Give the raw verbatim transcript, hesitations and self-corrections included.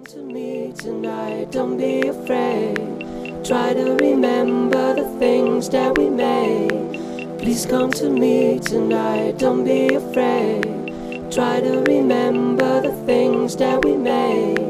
come to me tonight, don't be afraid. Try to remember the things that we made. Please come to me tonight, don't be afraid. Try to remember the things that we made.